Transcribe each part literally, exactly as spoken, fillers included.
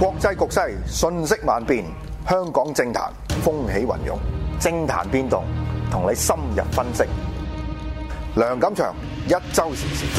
國際局勢瞬息萬變，香港政壇風起雲湧，政壇變動，同你深入分析。梁錦祥一周時事。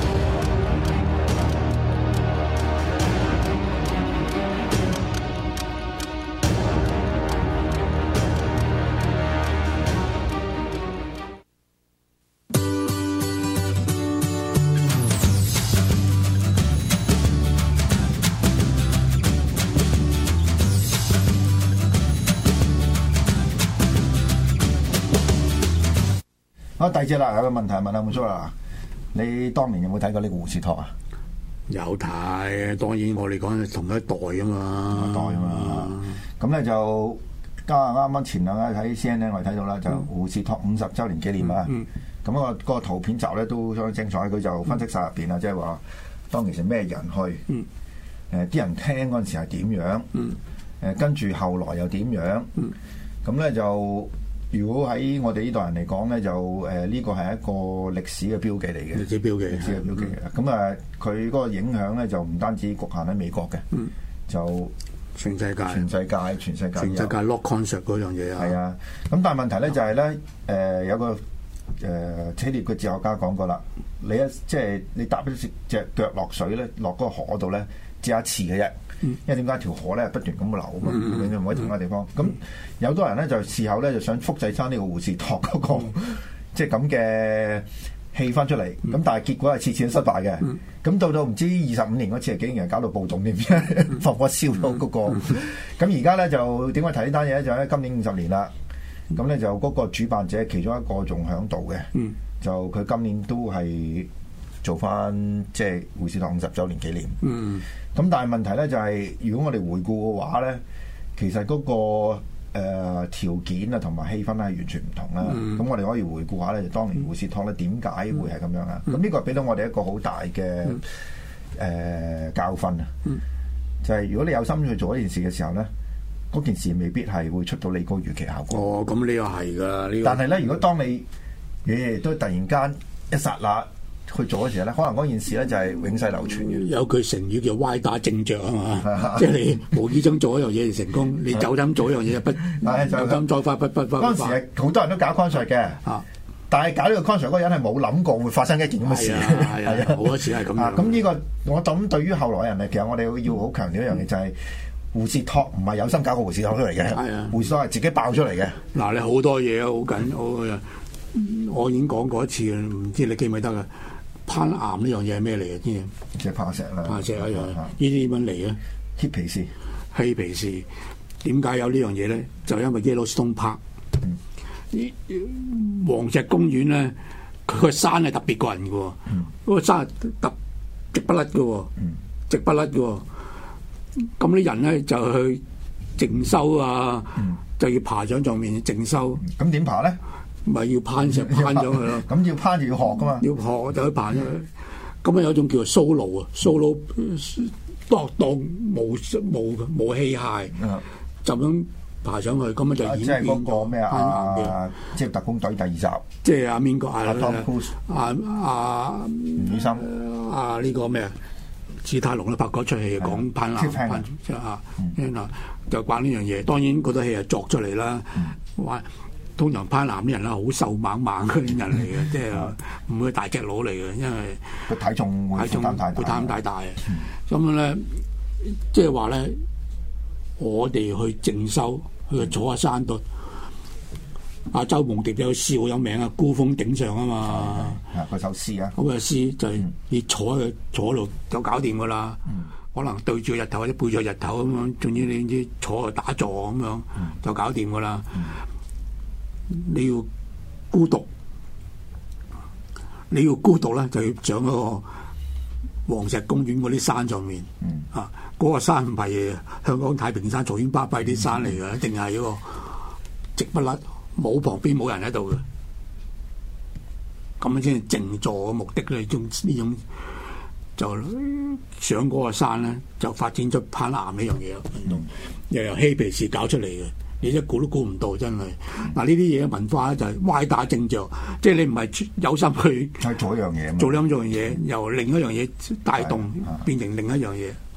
好，第二隻啦，有個問題問下滿叔啦，你當年有冇睇過呢個胡士托啊？ 有睇，當然我哋講係同一代啊嘛， 同一代啊嘛。咁咧、嗯、就加啱啱前兩日喺 C N N 我哋睇到啦，就胡士托五十週年紀念啊。咁、嗯嗯、個個圖片集咧都相當精彩，佢就分析晒入邊啊，即係話當其時咩人去，誒啲、嗯呃、人聽嗰陣時係點樣，誒、嗯呃、跟住後來又點樣，咁咧、嗯、就。如果喺我哋呢代人嚟講咧，就誒呢個係一個歷史嘅標記嚟嘅， 歷史標記， 歷史嘅標記嘅。咁啊、嗯，佢嗰個影響咧就唔單止局限喺美國嘅，嗯、就全世界， 全世界，全世界， 全世界 lock concert 嗰樣嘢啊。 係啊，咁但係問題咧就係、是、咧，誒、呃、有個誒希臘嘅哲學家講過啦，你一即係、就是、你踏一隻腳落水咧，落嗰個河度咧，只有一次嘅啫。因為點解條河咧不斷咁流啊嘛，永遠唔可以停嘅地方。咁、嗯、有多人咧就事後咧就想複製翻呢個胡士托嗰、那個、嗯、即係咁嘅氣氛出嚟。咁、嗯、但係結果係次次都失敗嘅。咁、嗯、到到唔知二十五年嗰次，竟然搞到暴動點樣，放火燒到嗰個。咁而家咧就點解提呢單嘢咧？就喺今年五十年啦。咁咧就嗰個主辦者其中一個仲喺度嘅，嗯、就佢今年都係做翻即係胡士托五十週年紀念。嗯咁但係問題咧就係、是，如果我哋回顧嘅話咧，其實嗰、那個誒、呃、條件啊同埋氣氛咧係完全唔同啦。咁、嗯、我哋可以回顧下咧，就當年胡士托咧點解會係咁樣啊？咁呢、嗯、個俾到我哋一個好大嘅誒、嗯呃、教訓啊！嗯、就係如果你有心去做一件事嘅時候咧，嗰件事未必係會出到你個預期效果。 哦，咁呢個係噶，呢、這個。 但係咧，如果當你嘢都突然間一剎那去做嘅時候咧，可能嗰件事咧就係永世流傳嘅。 有句成語叫歪打正着啊嘛，即係你無意中做一樣嘢就成功，你走膽做一樣嘢就不有心再發不不不。 嗰陣時係好多人都搞 concert 嘅，啊、但係搞呢個 concert 嗰個人係冇諗過會發生一件咁嘅事。 係啊，好多時係咁樣。 咁呢個我諗對於後來人嚟，其實我哋要好強調一樣嘢就係、是、胡士托唔係有心搞個胡士托出嚟嘅， 係啊， 胡士托係自己爆出嚟嘅。 嗱，你好多嘢啊，好緊，好我已經講過一次，唔知你記唔記得啊？攀岩呢樣嘢係咩嚟嘅？知唔知？ 即係攀石啦， 攀石一樣。呢啲點樣嚟嘅？ 嬉皮士， 嬉皮士。點解有呢樣嘢咧？就因為 Yellowstone Park，嗯、黃石公園咧，佢個山係特別過人嘅喎。嗰、嗯、個山係特直不甩嘅喎，嗯、直不甩嘅喎。咁啲人咧就去靜修啊，嗯、就要爬上上面靜修。 咁點、嗯、爬咧？ 咪要攀石攀上去咯， 咁要攀就要學噶嘛， 要學就去攀上去。咁啊有一種叫做 solo 啊，solo 當當冇冇冇器械，就咁爬上去，咁啊就演即係嗰個咩啊？即係特工隊第二集， 即係阿邊個啊？ 阿阿吳宇森啊呢個咩啊？史泰龍都拍過出戲講攀岩，攀即係啊，就關呢樣嘢。當然嗰套戲係作出嚟啦，話。通常攀岩啲人啦，好瘦猛猛嗰啲人嚟嘅，即係唔會大隻佬嚟嘅，因為個體重會負擔太大， 會擔太大。咁樣咧，即係話咧，我哋去靜修，去坐喺山度。阿周夢蝶有笑有名啊，孤峰頂上啊嘛。 啊，嗰首詩啊。 咁嘅詩就係你坐喺坐度就搞掂噶啦。可能對住日頭或者背住日頭咁樣，總之你知坐喺度打坐咁樣就搞掂噶啦。你要孤獨，你要孤獨咧，就要上嗰個黃石公園嗰啲山上面。嗯、啊，嗰、嗰個山唔係香港太平山、嘈喧巴閉啲山嚟嘅，一定係嗰個直不甩，冇旁邊冇人喺度嘅。咁樣先係靜坐嘅目的咧，呢種呢種就上嗰個山咧，就發展出攀岩呢樣嘢運動，又由嬉皮士搞出嚟嘅。你一估都估唔到，真係嗱，呢啲嘢文化咧就係歪打正着，即係你唔係有心去做一樣嘢， 做兩樣嘢，由另一樣嘢帶動變成另一樣嘢。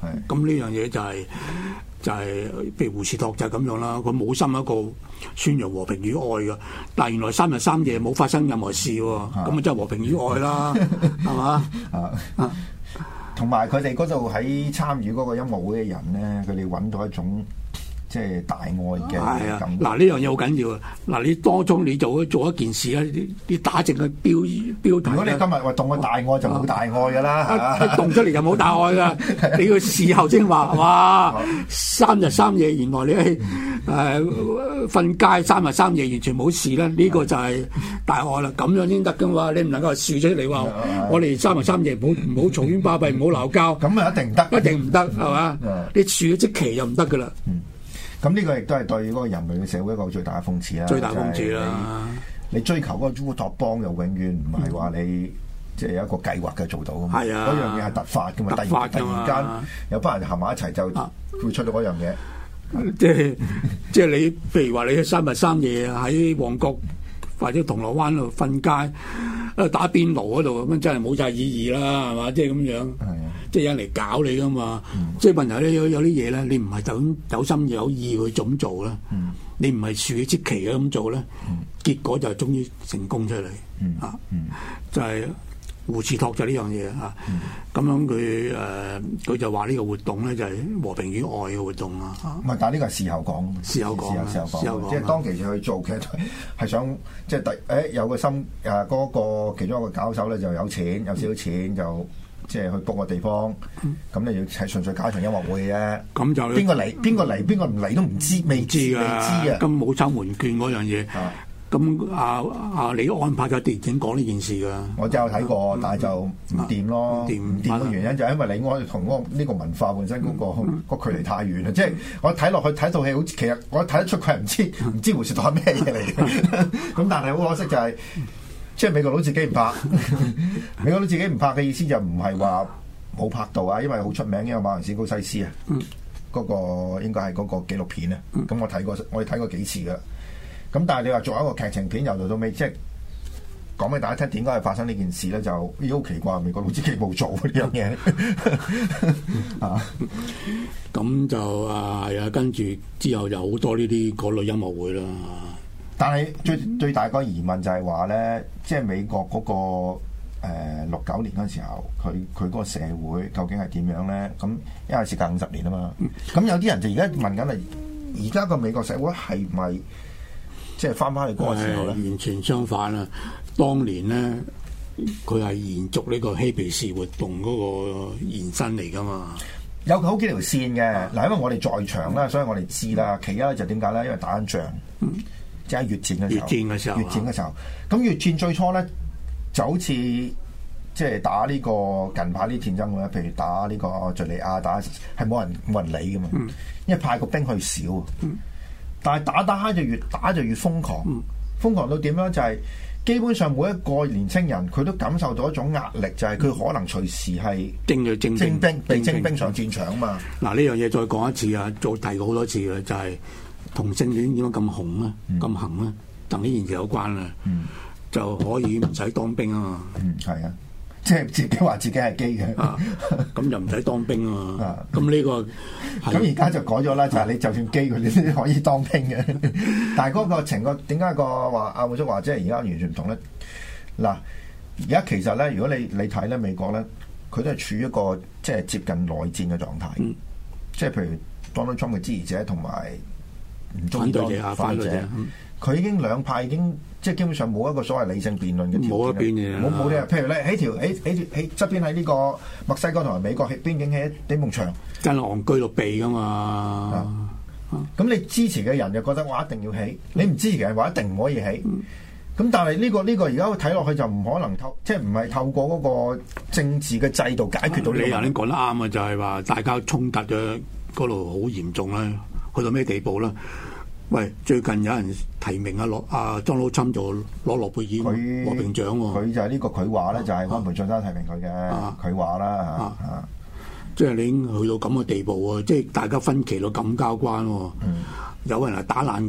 咁呢樣嘢就係、是、就係、是、譬如胡士托就係咁樣啦，佢冇心一個宣揚和平與愛嘅，但係原來三日三夜冇發生任何事喎，咁啊真係和平與愛啦，係嘛？啊， 同埋佢哋嗰度喺參與嗰個音樂會嘅人咧，佢哋揾到一種即係大愛嘅感覺。 嗱呢樣嘢好緊要啊！嗱你當中你做做一件事咧，你你打正個標標題。 如果你今日話動個大愛就冇大愛㗎啦， 一動出嚟就冇大愛㗎。你要事後先話，哇！三日三夜原來你係誒瞓街三日三夜完全冇事咧，呢個就係大愛啦。咁樣先得㗎嘛！你唔能夠笑出嚟話我哋三日三夜唔好唔好嘈喧巴閉，唔好鬧交。 咁啊一定唔得， 一定唔得係嘛？你處咗即期就唔得㗎啦。 咁呢個亦都係對嗰個人類嘅社會一個最大嘅諷刺啦。 最大諷刺啦！ 你追求嗰個烏托邦又永遠唔係話你即係有一個計劃嘅做到㗎嘛。係啊，嗰樣嘢係突發㗎嘛。突然突然間有班人行埋一齊就會出到嗰樣嘢。 即係即係你譬如話你三日三夜喺旺角或者銅鑼灣度瞓街，喺打邊爐嗰度咁，真係冇晒意義啦，係嘛？即係咁樣。即係有人嚟搞你噶嘛？嗯、即係問題咧，有有啲嘢咧，你唔係就咁有心有意去咁做啦。嗯、你唔係處之期嘅咁做咧，嗯、結果就係終於成功出嚟。嗯、啊，嗯、就係胡士托就呢樣嘢啊。咁、嗯、樣佢誒佢就話呢個活動咧就係和平與愛嘅活動啊。唔係， 但係呢個係事後講。 事後講， 事後講。即係當其時去做嘅係想即係第誒有個心誒嗰、嗰個其中一個搞手咧就有錢有少少錢就。即係去 book 個地方，咁你要係純粹搞場音樂會嘅。咁就邊個嚟？邊個嚟？邊個唔嚟都唔知，未知㗎。未知啊！ 咁冇抽門券嗰樣嘢。咁啊啊！你安排咗電影講呢件事㗎？ 我就有睇過，但係就唔掂咯。唔掂唔掂嘅原因就係因為你我同嗰個呢個文化本身嗰個個距離太遠啦。即係我睇落去睇套戲，好似其實我睇得出佢係唔知唔知胡士托係咩嘢嚟嘅。咁但係好可惜就係。即係美國佬自己唔拍，美國佬自己唔拍嘅意思就唔係話冇拍到啊，因為好出名嘅馬田史高西斯啊，嗰、嗯、個應該係嗰個紀錄片啊。咁、嗯、我睇過，我哋睇過幾次噶。咁但係你話作為一個劇情片，由頭到尾，即係講俾大家聽點解係發生呢件事咧，就咦好奇怪，美國佬自己冇做呢樣嘢啊。 咁就啊係啊，跟住之後就好多呢啲嗰類音樂會啦。 但係最最大個疑問就係話咧，即係美國嗰、那個誒六九年嗰陣時候，佢佢嗰個社會究竟係點樣咧？咁因為時隔五十年啊嘛，咁、嗯、有啲人就而家問緊係，而家個美國社會係咪即係翻返去嗰個時候咧？ 完全相反啦！當年咧，佢係延續呢個嬉皮士活動嗰個延伸嚟噶嘛。 有好幾條線嘅嗱，因為我哋在場啦，所以我哋知啦。其一就點解咧？因為打緊仗。嗯即係越戰嘅時候， 越戰嘅時候， 越戰嘅時候，咁越戰最初咧就好似即係打呢個近排啲戰爭咁咧，譬如打呢個敍利亞，打係冇人冇人理㗎嘛，嗯、因為派個兵去少，嗯、但係打打下就越打就越瘋狂，嗯、瘋狂到點樣就係、是、基本上每一個年青人佢都感受到一種壓力，就係、是、佢可能隨時係徵嘅徵徵兵被徵兵上戰場啊嘛。 嗱呢樣嘢再講一次啊，再提過好多次嘅就係、是。同性戀點解咁紅咧？咁行咧？同呢件事有關啦，嗯、就可以唔使當兵啊嘛。 嗯，係啊，即係自己話自己係基嘅，咁、 啊、就唔使當兵啊嘛。咁呢、啊、個咁而家就改咗啦，就係、是、你就算基佢，你都可以當兵嘅。但係嗰個情況點解個話阿滿叔話即係而家完全唔同咧？嗱，而家其實咧，如果你你睇咧美國咧，佢都係處於一個即係接近內戰嘅狀態，嗯、即係譬如 Donald Trump 嘅支持者同埋。唔中意當反對者，佢已經兩派已經即係基本上冇一個所謂理性辯論嘅條件， 冇一邊嘅， 冇冇啲譬如咧喺條喺喺喺側邊喺呢個墨西哥同埋美國喺邊境起一埲牆， 真係戇居到避噶嘛。 咁、啊、你支持嘅人就覺得我一定要起，你唔支持嘅人話一定唔可以起。咁、嗯、但係呢、呢個呢、呢個而家睇落去就唔可能透，即係唔係透過嗰個政治嘅制度解決到呢個問題。你頭先講得啱啊，就係、是、話大家衝突嘅嗰度好嚴重啦，去到咩地步啦？喂，最近有人提名阿諾阿莊老侵做攞諾貝爾和平獎喎。佢就係呢個佢話咧，就係安倍晉三提名佢嘅。佢話啦嚇，即係你已經去到咁嘅地步喎，即係大家分歧到咁交關喎。嗯、有人係打爛個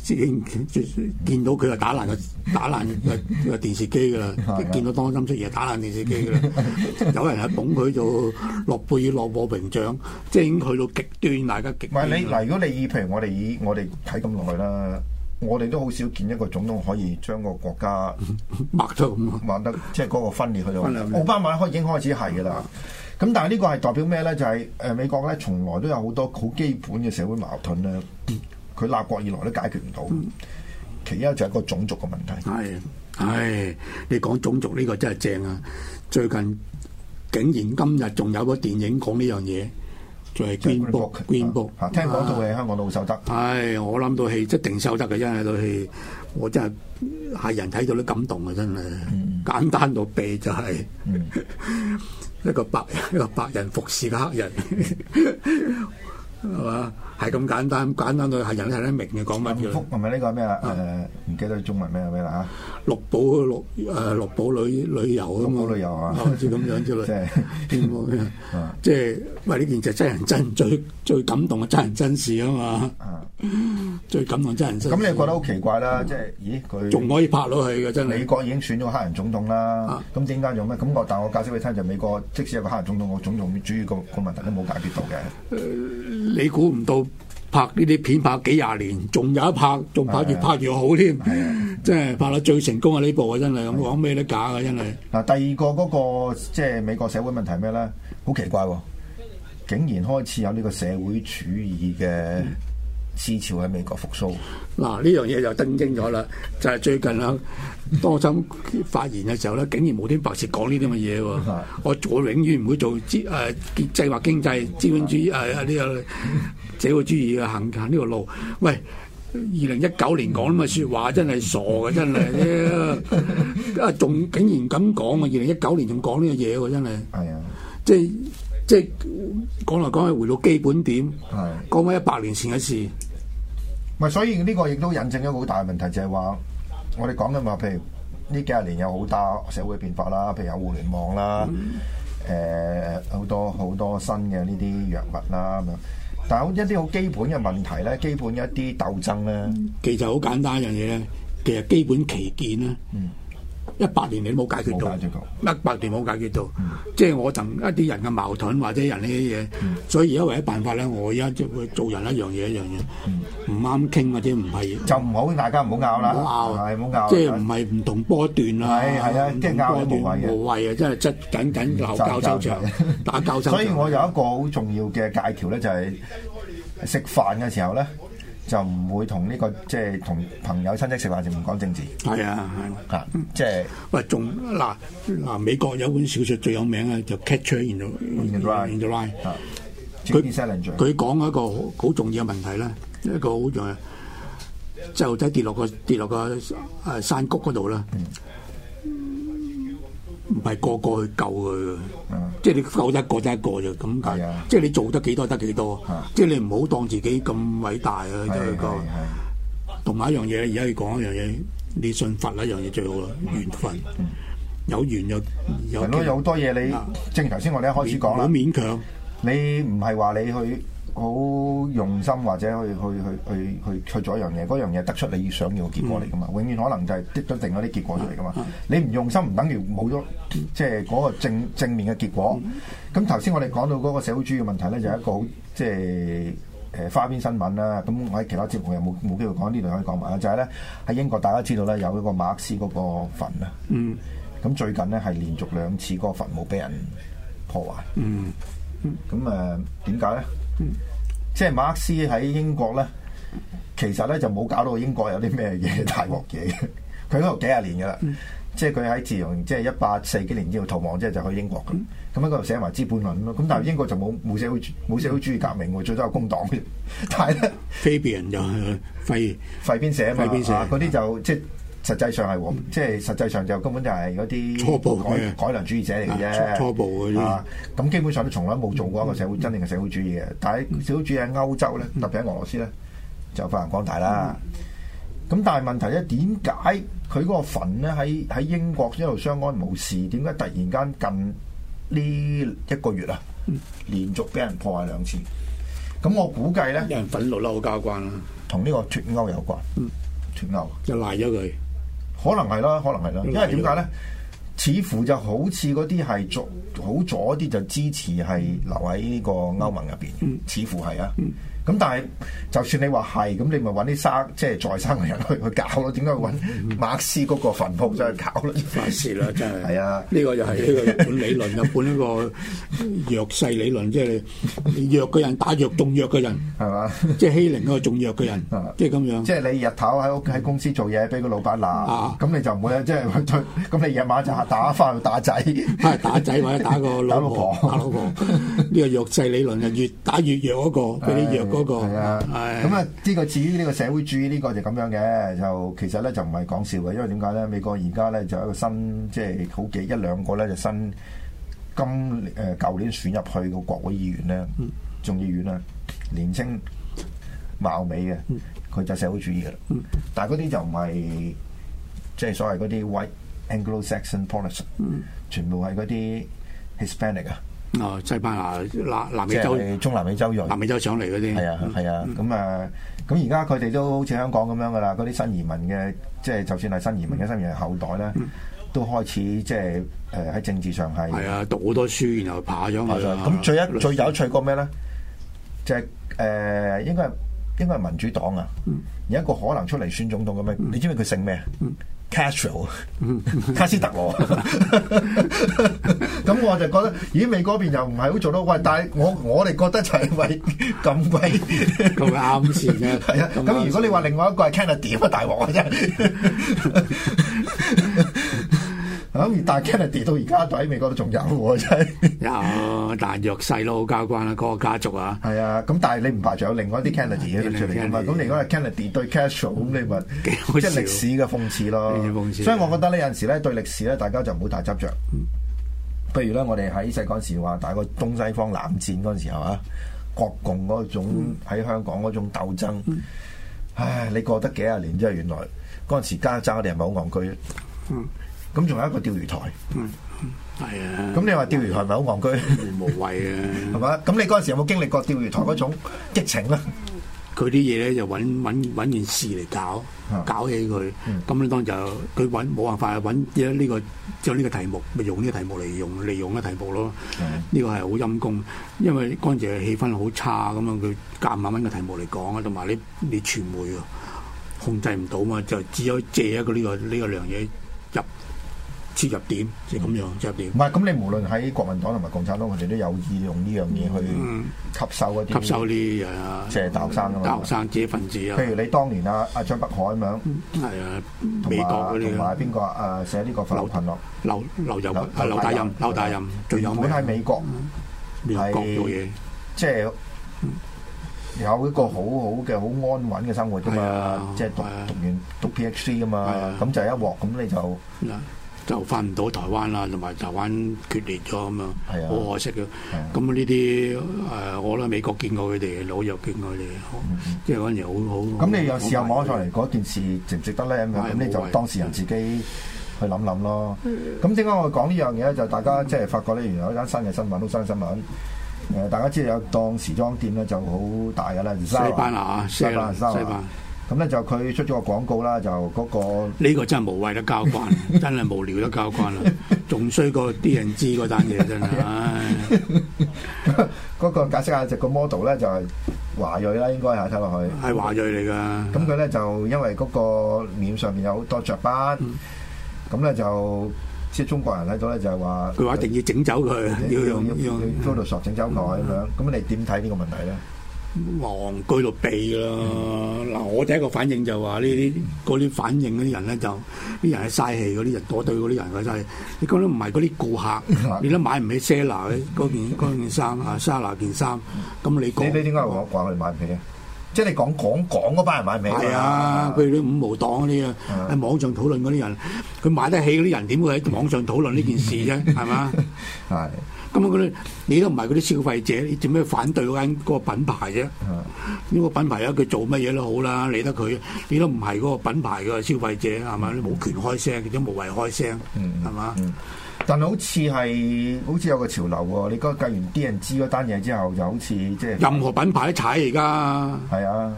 已經見到佢就打爛個打爛個個電視機㗎啦，見到當心出嘢打爛電視機㗎啦，有人係捧佢做諾貝爾諾和平獎，即係已經去到極端，大家極端。 唔係你嗱，如果你以譬如我哋以我哋睇咁耐啦，我哋都好少見一個總統可以將個國家抹咗咁啊， 抹得即係嗰個分裂去到。奧巴馬開已經開始係㗎啦。咁但係呢個係代表咩咧？就係、是、誒美國咧，從來都有好多好基本嘅社會矛盾咧，佢立國以來都解決唔到。其一就係一個種族嘅問題。 係，係你講種族呢個真係正啊！最近竟然今日仲有個電影講呢樣嘢，就係 Green Book。Green Book 嚇，聽講套戲香港都好收得。 係，我諗到戲一定收得嘅，真係套戲，我真係係人睇到都感動啊！真係，嗯、簡單到痹就係、是。嗯一個白一個白人服侍嘅黑人，係嘛？係咁簡單，簡單到係人都睇得明嘅講乜嘅。 福係咪呢個咩啊？誒、呃，唔記得中文咩咩啦嚇。綠寶綠誒綠寶旅旅遊啊嘛。 綠寶旅遊啊， 好似咁樣之類。 即係即係喂呢件就真人真最最感動嘅真人真事啊嘛。最感動真人真事。 咁你覺得好奇怪啦？即係咦佢仲可以拍落去嘅真係。 美國已經選咗黑人總統啦。咁點解用咩？咁我但係我解釋俾你聽，就美國即使有個黑人總統，個種族主義個個問題都冇解決到嘅。 你估唔到拍呢啲片拍幾廿年，仲有一拍，仲拍越拍越好添，即係拍到最成功嘅呢部啊！真係咁講咩都假嘅，真係。嗱， 第二個嗰個即係美國社會問題係咩咧？好奇怪喎，竟然開始有呢個社會主義嘅思潮喺美國復甦。 嗱，呢樣嘢就登經咗啦，就係、是、最近啊，多心發言嘅時候咧，竟然無端白事講呢啲咁嘅嘢喎。我我永遠唔會做資誒計劃經濟資本主義誒呢個社會主義嘅行行呢個路。喂，二零一九年講咁嘅説話真係傻嘅，真係啊！仲竟然咁講啊！二零一九年仲講呢個嘢喎，真係。係啊，即係即係講嚟講去回到基本點，講翻一百年前嘅事。 唔係，所以呢個亦都引證一個好大嘅問題，就係話我哋講緊話，譬如呢幾十年有好大社會變化啦，譬如有互聯網啦，誒好多好多新嘅呢啲藥物啦咁樣。但係一啲好基本嘅問題咧，基本一啲鬥爭咧， 其實好簡單一樣嘢咧，其實基本旗艦咧。嗯一百年你都冇解決到，一百年冇解決到，嗯、即係我同一啲人嘅矛盾或者人呢啲嘢，嗯、所以而家唯一辦法咧，我而家即係會做人一樣嘢一樣嘢，唔啱傾或者唔係就唔好大家唔好拗啦，唔好拗，係唔好拗， 即係唔係唔同波段啦， 係係啊，即係拗都無謂嘅， 無謂啊，真係質緊緊鬧交收場，打交收場。 所以我有一個好重要嘅戒條咧，就係食飯嘅時候咧。就唔會同呢、這個即係同朋友親戚食飯就唔講政治。係啊，係啊，即係喂，仲嗱嗱美國有本小説最有名嘅就 Catcher in the in the Rye。佢佢講一個好重要嘅問題咧，一個好重要，細路仔跌落個跌落個誒山谷嗰度啦。唔係個個去救佢嘅，嗯、即係你救一個得一個就咁解。的即係你做得幾多得幾多，的即係你唔好當自己咁偉大啊！即係個同埋一樣嘢，而家要講一樣嘢，你信佛一樣嘢最好啦，緣分。嗯、有緣就有。係咯，有好多嘢你，啊、正如頭先我哋一開始講啦，唔好勉強。你唔係話你去好用心或者去去去去去去做一樣嘢，嗰樣嘢得出你想要嘅結果嚟噶嘛？嗯、永遠可能就係得咗定嗰啲結果出嚟噶嘛？嗯、你唔用心唔等於冇咗，即係嗰個正正面嘅結果。咁頭先我哋講到嗰個社會主義嘅問題咧，就係、是、一個好即係誒花邊新聞啦。咁我喺其他節目又冇冇機會講，呢度可以講埋啦。就係咧喺英國，大家知道咧有一個馬克思嗰個墳啊。嗯。咁最近咧係連續兩次嗰個墳墓俾人破壞。嗯。咁誒點解咧？嗯、即係馬克思喺英國咧，其實咧就冇搞到英國有啲咩嘢大鑊嘢。佢喺度幾廿年噶啦，嗯、即係佢喺自從即係一八四幾年之後逃亡之後就去英國咁。咁喺嗰度寫埋《資本論》咯。咁但係英國就冇冇社會冇社會主義革命喎，最多有工黨嘅。但係咧，Fabian 就係廢廢邊社啊嘛，嗰啲就即係。實際上係喎，即係實際上就根本就係嗰啲初步改改良主義者嚟嘅啫，初步嗰啲啊，咁基本上都從來冇做過一個社會真正嘅社會主義嘅。但係社會主義喺歐洲咧，特別喺俄羅斯咧，就發揚光大啦。咁但係問題咧，點解佢嗰個墳咧喺喺英國一路相安無事？點解突然間近呢一個月啊，連續俾人破壞兩次？ 咁我估計咧， 有人憤怒啦，好交關啦， 同呢個脱歐有關。 嗯， 脱歐就賴咗佢， 可能係啦，可能係啦，因為點解咧？似乎就好似嗰啲係左好左啲就支持係留喺呢個歐盟入邊， 嗯、 似乎係啊。咁、嗯、但係就算你話係，咁你咪揾啲生即係在生嘅人去去搞咯。點解揾馬克思嗰個墳墓就去搞咯？ 發泄啦，真係。 係啊， 呢個就係呢個日本理論，日本呢個弱勢理論，即係你弱嘅人打弱仲弱嘅人，係嘛吧？即係欺凌嗰個仲弱嘅人，即係咁樣。即係你日頭喺屋喺公司做嘢，俾個老闆鬧，咁、啊、你就唔會即係咁你夜晚就打翻去打仔， 係打仔或者打個老婆，打老婆。呢個弱勢理論就越打越弱嗰個，俾你弱嗰個。係啊， 咁啊，呢個至於呢個社會主義呢個就咁樣嘅，就其實咧就唔係講笑嘅，因為點解咧？美國而家咧就有一個新，即係好幾一兩個咧就新今誒舊年選入去個國會議員咧，眾議院啊，年青貌美嘅，佢就社會主義嘅啦。但係嗰啲就唔係即係所謂嗰啲 White Anglo-Saxon politics，全部係嗰啲 Hispanic 啊。 哦，西班牙、南南美洲、 中南美洲裔、 南美洲上嚟嗰啲， 係啊係啊，咁啊，咁而家佢哋都好似香港咁樣噶啦，嗰啲新移民嘅，即係就算係新移民嘅新移民後代咧，嗯、都開始即係誒喺政治上係係啊，讀好多書，然後爬咗去。 咁最一最有趣個咩咧？就係、是、誒、呃、應該係應該係民主黨啊，嗯、有一個可能出嚟選總統咁樣，嗯、你知唔知佢姓咩？嗯 Castro，卡斯特羅，咁我就覺得，咦？美嗰邊又唔係好做到，喂！但係我我哋覺得就係喂咁鬼咁啱先嘅， 係啊！咁如果你話另外一個係 Kennedy 啊，大鑊啊真係。咁但係 Kennedy 到而家喺美國都仲有喎，真係有，但係弱勢咯，好交關啦，嗰個家族啊。 係啊，咁但係你唔排除有另外一啲 Kennedy 出嚟㗎嘛？咁你如果係 Kennedy 對 Castro，咁你咪即係歷史嘅諷刺咯。所以我覺得呢有陣時咧對歷史咧，大家就唔好太執着。譬如咧，我哋喺細嗰陣時話，大個東西方冷戰嗰陣時候啊，國共嗰種喺香港嗰種鬥爭，唉，你過得幾廿年之後，原來嗰陣時家爭我哋係咪好戇居？嗯。咁仲有一個釣魚台，嗯，係啊。咁你話釣魚台係咪好戇居？ 無謂啊， 係嘛？咁你嗰陣時有冇經歷過釣魚台嗰種激情咧？ 佢啲嘢咧就揾揾揾件事嚟搞，搞起佢。咁咧、嗯、當就佢揾冇辦法揾呢、呢個將呢個題目，咪用呢個題目嚟用利用嘅題目咯。呢、嗯、個係好陰功，因為嗰陣時嘅氣氛好差咁樣，佢夾硬揾個題目嚟講啊，同埋你你傳媒啊控制唔到嘛，就只有借一個呢、呢個呢、呢個樣嘢入。切入點即係咁樣，切入點。 唔係咁，你無論喺國民黨同埋共產黨，佢哋都有意用呢樣嘢去吸收嗰啲、 嗯、吸收啲啊， 即係大學生啊嘛， 大學生知識分子啊。 譬如你當年啊，阿張北海咁樣， 係啊，美國嗰啲， 同埋邊個啊？寫呢個法律群落， 劉劉游啊，劉大任，劉大任最有名。 本喺美國係做嘢， 即係有一個好好嘅好安穩嘅生活㗎嘛，即係讀讀完讀 PhD 㗎嘛，咁就一鑊咁你就。 就翻唔到台灣啦，同埋台灣決裂咗咁樣，好、啊、可惜嘅。咁呢啲誒，我覺得美國見過佢哋，紐約見過佢哋，嗯、即係嗰陣時好好。咁你有時候摸上嚟嗰件事值唔值得咧？咁咁、嗯、你就當事人自己去諗諗咯。咁點解我講呢樣嘢咧？就大家即係發覺咧，原來有一間新嘅新聞，好新嘅新聞。誒、呃，大家知道有檔時裝店咧，就好大㗎啦， 西班牙，西班牙，西班牙。 咁咧就佢出咗個廣告啦，就嗰、那個呢個真係無謂得交關，真係無聊得交關啦，仲衰過啲人知嗰單嘢真係。 嗰個解釋下就個 model 咧就係華裔啦，應該係睇落去係華裔嚟㗎。 咁佢咧就因為嗰個面上面有好多雀斑，咁咧、嗯、就即係中國人睇到咧就係話佢話一定要整走佢，要用要用 Photoshop 整走佢咁樣。咁、嗯、你點睇呢個問題咧？ 戇居到痹啦！嗱、嗯，我第一個反應就話呢啲嗰啲反應嗰啲人咧，就啲人係嘥氣，嗰啲人躲對嗰啲人嘅真係。你講得唔係嗰啲顧客，你都買唔起 Sara 嗰件嗰件衫啊 ，Sara 件衫。咁你講你你點解話話佢哋買唔起啊？即係你講講講嗰班人買唔起？ 係啊，譬如啲五毛黨嗰啲啊，喺網上討論嗰啲人，佢買得起嗰啲人點會喺網上討論呢件事啫？係嘛？係。咁啊！嗰啲你都唔係嗰啲消費者，你做咩反對嗰間嗰個品牌啫？呢、嗯、個品牌啊，佢做乜嘢都好啦，理得佢。你都唔係嗰個品牌嘅消費者，係嘛？你冇權開聲，亦都無謂開聲，係嘛？ 但係好似係好似有個潮流喎，你嗰計完啲人知嗰單嘢之後，就好似即係任何品牌都踩而家。 係啊，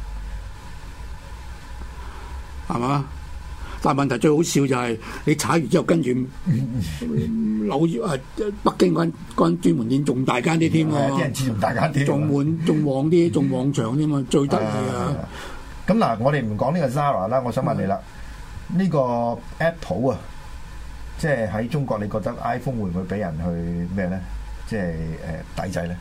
係嘛？但係問題最好笑就係你踩完之後，跟住紐約啊，北京嗰間嗰間專門店仲大間啲添喎， 啲人知仲大間啲， 仲滿仲旺啲，仲旺場添嘛，最得意啊！ 咁嗱，我哋唔講呢個 Zara 啦，我想問你啦，呢、嗯、個 Apple 啊，即係喺中國，你覺得 iPhone 會唔會俾人去咩咧？即係誒抵制咧？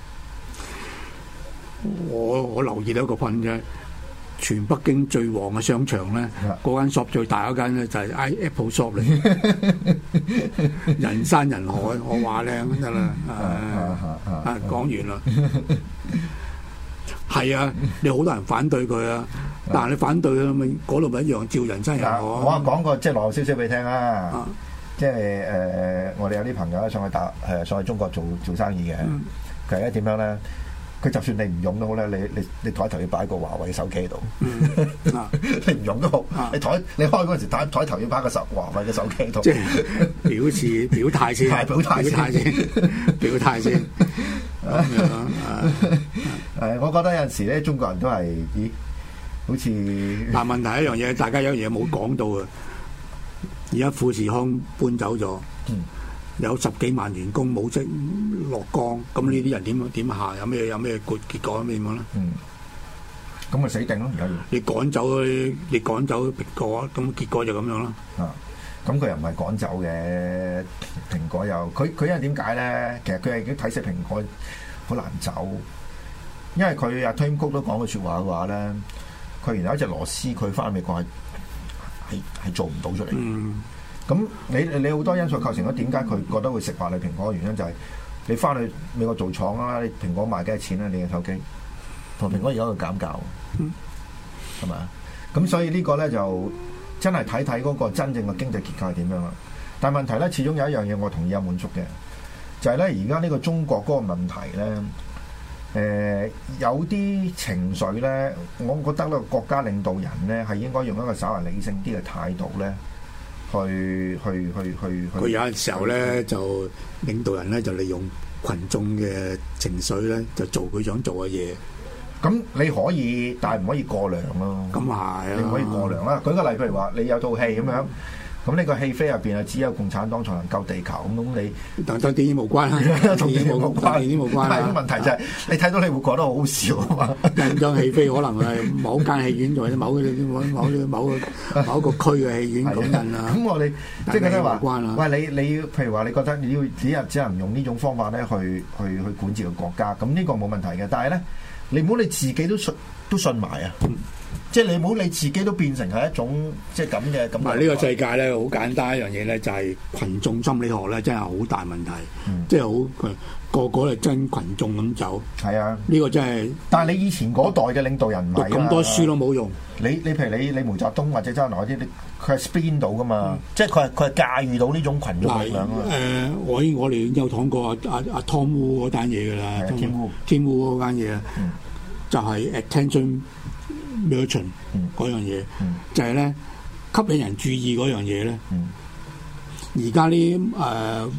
我我留意到一個分啫。全北京最旺嘅商場咧，嗰間 shop 最大嗰間咧就係 Apple shop 嚟，人山人海，我話靚得啦，啊講完啦，係啊，你好多人反對佢啊，但係你反對佢咪嗰度咪一樣照人山人海。我啊講個即係內幕消息俾你聽啊，即係誒我哋有啲朋友咧上去打誒上去中國做做生意嘅，佢而家點樣咧？佢就算你唔用都好咧，你你你台頭要擺個華為手機喺度，嗯啊、你唔用都好，啊、你台你開嗰陣時台台頭要擺個手華為嘅手機喺度，即係表示表態先，表態先，表態先。誒，我覺得有陣時咧，中國人都係，咦，好似但問題一樣嘢，大家有樣嘢冇講到啊！而家富士康搬走咗。嗯有十幾萬員工冇職落崗，咁呢啲人點點下？有咩有咩結結果咩樣咧？嗯，咁咪死定咯！而家你趕走你趕走蘋果，咁結果就咁樣啦。啊，咁佢又唔係趕走嘅，蘋果又佢佢因為點解咧？其實佢係已經睇死蘋果好難走，因為佢阿 Tim Cook都講句説話嘅話咧，佢原來一隻螺絲佢翻美國係係係做唔到出嚟。嗯。咁你你好多因素構成咗點解佢覺得會食話你蘋果嘅原因就係你翻去美國做廠啦，你蘋果賣幾多錢咧？你嘅手機同蘋果而家喺度減價，係咪啊？咁所以個呢個咧就真係睇睇嗰個真正嘅經濟結構係點樣啦。但係問題咧，始終有一樣嘢我同意有滿足嘅，就係咧而家呢個中國嗰個問題咧，誒、呃、有啲情緒咧，我覺得呢個國家領導人咧係應該用一個稍為理性啲嘅態度咧。去去去去，佢有陣時候咧就領導人咧就利用群眾嘅情緒咧就做佢想做嘅嘢。咁你可以，但係唔可以過量咯。咁係啊，你唔可以過量啦。舉個例，譬如話你有套戲咁樣。咁呢個戲飛入邊啊，只有共產黨才能救地球咁，咁你同電影無關啦，同電影無關，電影無關。但係個問題就係、是，你睇到你會覺得好好笑啊嘛！人將戲飛可能係某間戲院或者某某某某個某一個區嘅戲院咁印啊。咁我哋即係覺得話，喂你你譬如話，你覺得你要只係只能用呢種方法咧，去去去管治個國家，咁呢個冇問題嘅。但係咧，你唔好你自己都信都信埋啊！嗯即係你唔好你自己都變成係一種即係咁嘅咁。嗱呢個世界咧好簡單一樣嘢咧，就係群眾心理學咧，真係好大問題。嗯、即係好個個係真群眾咁走。係啊，呢個真係。但係你以前嗰代嘅領導人唔係咁多書都冇用。你你譬如你你毛澤東或者周恩來嗰啲，佢係 spin 到噶嘛？嗯、即係佢係佢係駕馭到呢種群眾力量啊。誒、呃，我我哋已經有講過阿阿阿 Tom Wu 嗰單嘢㗎啦。Tim Wu Tim Wu 嗰單嘢啊，嗯、就係 attention merchant 嗰樣嘢，嗯、就係咧吸引人注意嗰樣嘢咧。而家啲誒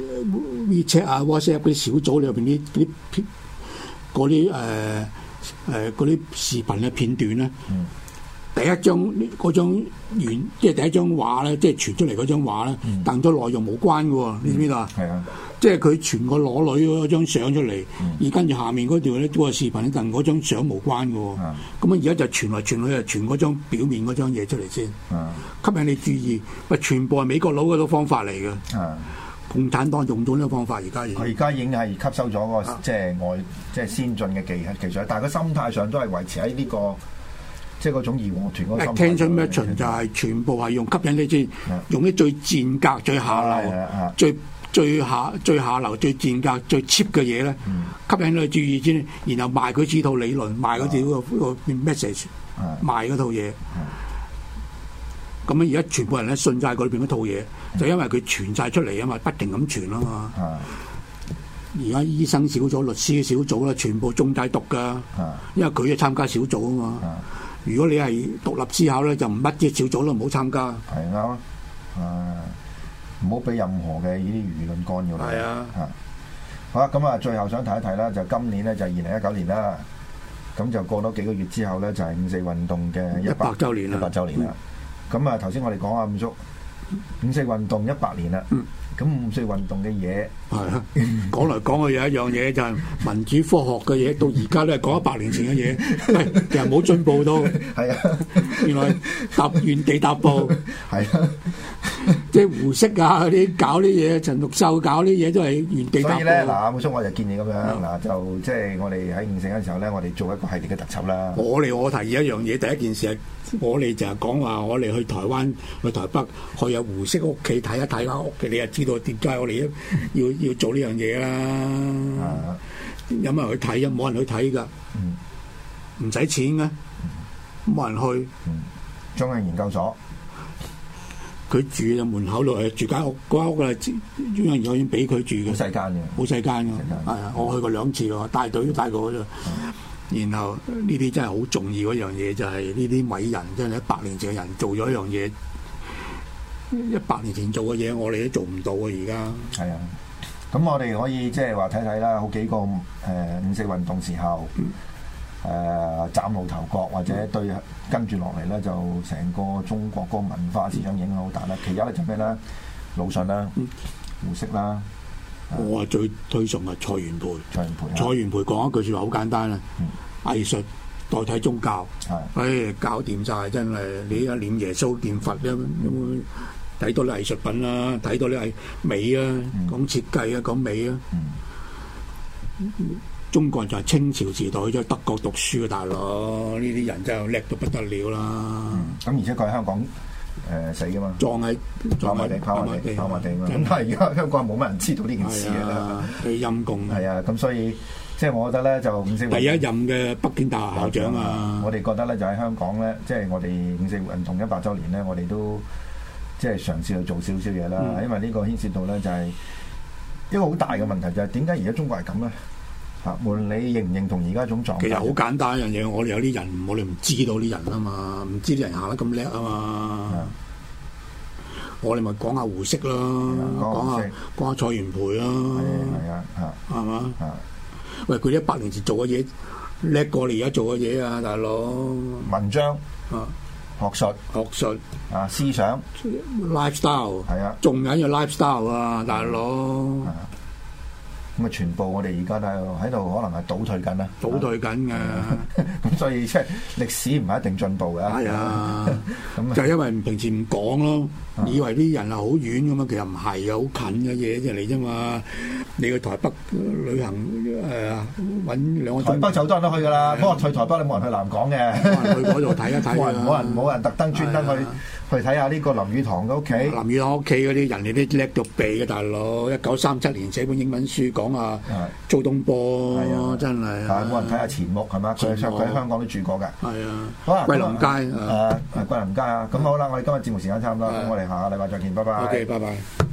WeChat 啊、WhatsApp 嗰啲小組裏邊啲啲嗰啲誒誒嗰啲視頻嘅片段咧，嗯、第一張嗰張原即係第一張畫咧，即係傳出嚟嗰張畫咧，同咗內容冇關嘅喎，你知唔知道啊？係啊。即係佢傳個裸女嗰張相出嚟，嗯、而跟住下面嗰條咧嗰個視頻咧，同嗰張相無關嘅喎。咁啊、嗯，而家就傳來傳去，就傳嗰張表面嗰張嘢出嚟先，嗯、吸引你注意。喂，全部係美國佬嗰種方法嚟嘅。嗯、共產黨用咗呢個方法，而家佢而家已經係吸收咗個即係外即係先進嘅技技術，但係佢心態上都係維持喺呢、呢個即係嗰種義和團嗰個心態。Attention merchant就係全部係用吸引你先，嗯、用啲最賤格、最下流、嗯、最。最下最下流最賤格最 cheap 嘅嘢咧，嗯、吸引你注意先，然後賣佢呢套理論，賣嗰條個 message，嗯、賣嗰套嘢。咁樣而家全部人咧信晒嗰裏邊嗰套嘢，嗯、就因為佢傳晒出嚟啊嘛，不停咁傳啊嘛。而家、嗯、醫生小組、律師小組啦，全部中晒毒噶，嗯、因為佢係參加小組啊嘛。嗯、如果你係獨立思考咧，就唔乜嘢小組都唔好參加。係啱啊。 唔好俾任何嘅呢啲輿論干擾。 係啊， 嚇好啦，咁啊，最後想提一提啦，就今年咧就係二零一九年啦，咁就過多幾個月之後咧就係五四運動嘅一百週年啦， 一百週年啦。咁啊頭先我哋講啊五叔五四運動一百年啦。 嗯咁五四運動嘅嘢係啊，講嚟講去有一樣嘢就係民主科學嘅嘢，到而家都係講一百年前嘅嘢，喂，其實冇進步到。 係啊， 原來踏原地踏步， 係啊， 即係胡適啊嗰啲搞啲嘢，陳獨秀搞啲嘢都係原地踏步。 所以咧，嗱，五叔我就建議咁樣，嗱就即係我哋喺五四嘅時候咧，我哋做一個系列嘅特輯啦。 我哋我提議一樣嘢，第一件事係我哋就係講話，我哋去台灣、去台北，去有胡適屋企睇一睇間屋企，你就知道點解我哋要要做呢樣嘢啦。 啊、 有冇人去睇啊？冇人去睇㗎，唔使、嗯、錢嘅，冇、嗯、人去。 嗯、中央研究所， 佢住喺門口度，係住間屋，嗰間屋啊，中央研究院俾佢住嘅， 好細間嘅， 好細間嘅，係啊，我去過兩次咯，帶隊都帶過啫。嗯然後呢啲真係好重要一樣嘢，就係呢啲偉人真係一百年前嘅人做咗一樣嘢，一百年前做嘅嘢我哋都做唔到啊！而家係啊，咁我哋可以即係話睇睇啦，好幾個誒、呃、五四運動時候誒、呃、嶄露頭角，或者對跟住落嚟咧，就成個中國嗰個文化思想影響好大啦。其一咧就咩咧？魯迅啦、胡適啦。 我係最推崇係蔡元培。蔡元培，蔡元培講一句説話好簡單啦，嗯、藝術代替宗教，誒的搞掂晒真係。你而家念耶穌念佛咧，睇多啲藝術品啦，睇多啲藝美啊，嗯、講設計啊，講美啊。嗯、中國人就係清朝時代去咗德國讀書嘅大佬，呢啲人真係叻到不得了啦。咁、 嗯、而且佢喺香港。誒、呃、死噶嘛， 撞喺跑馬地，跑馬地，跑馬地嘛。咁但係而家香港冇乜人知道呢件事嘅啦， 佢陰公。 係啊，咁所以即係我覺得咧，就五四運動第一任嘅北京大學校長啊， 我哋覺得咧就喺香港咧，即係我哋五四運動一百週年咧，我哋都即係嘗試去做少少嘢啦。嗯、因為呢個牽涉到咧就係一個好大嘅問題，就係點解而家中國係咁咧？嚇！無論你認唔認同而家種狀態， 其實好簡單一樣嘢，我哋有啲人，我哋唔知道啲人啊嘛，唔知啲人行得咁叻啊嘛。的我哋咪講下胡適咯，講下講下蔡元培咯。 係啊，嚇， 係嘛？喂，佢哋一百年前做嘅嘢叻過你而家做嘅嘢啊，大佬。 文章啊，學術， 學術啊，思想 ，lifestyle 係啊，仲緊要 lifestyle 啊，大佬。 咁啊，全部我哋而家都喺度，可能係倒退緊啦， 倒退緊嘅。 咁所以即係歷史唔係一定進步嘅。係啊，咁就係因為平時唔講咯，以為啲人係好遠咁啊，其實唔係嘅，好近嘅嘢啫嚟啫嘛。你去台北旅行誒揾兩個鐘， 台北就好多人都去㗎啦。不過去台北你冇人去南港嘅， 冇人去嗰度睇一睇。 冇人冇人冇人特登專登去去睇下呢個林語堂嘅屋企。 林語堂屋企嗰啲人哋都叻到痹嘅大佬，一九三七年寫本英文書講啊，蘇東坡真係。 但係冇人睇下錢穆係嘛？佢佢喺香港都住過㗎。 係啊， 好啊， 桂林街誒， 桂林街啊。咁好啦，我哋今日節目時間差唔多，咁我哋下個禮拜再見，拜拜。 OK，拜拜。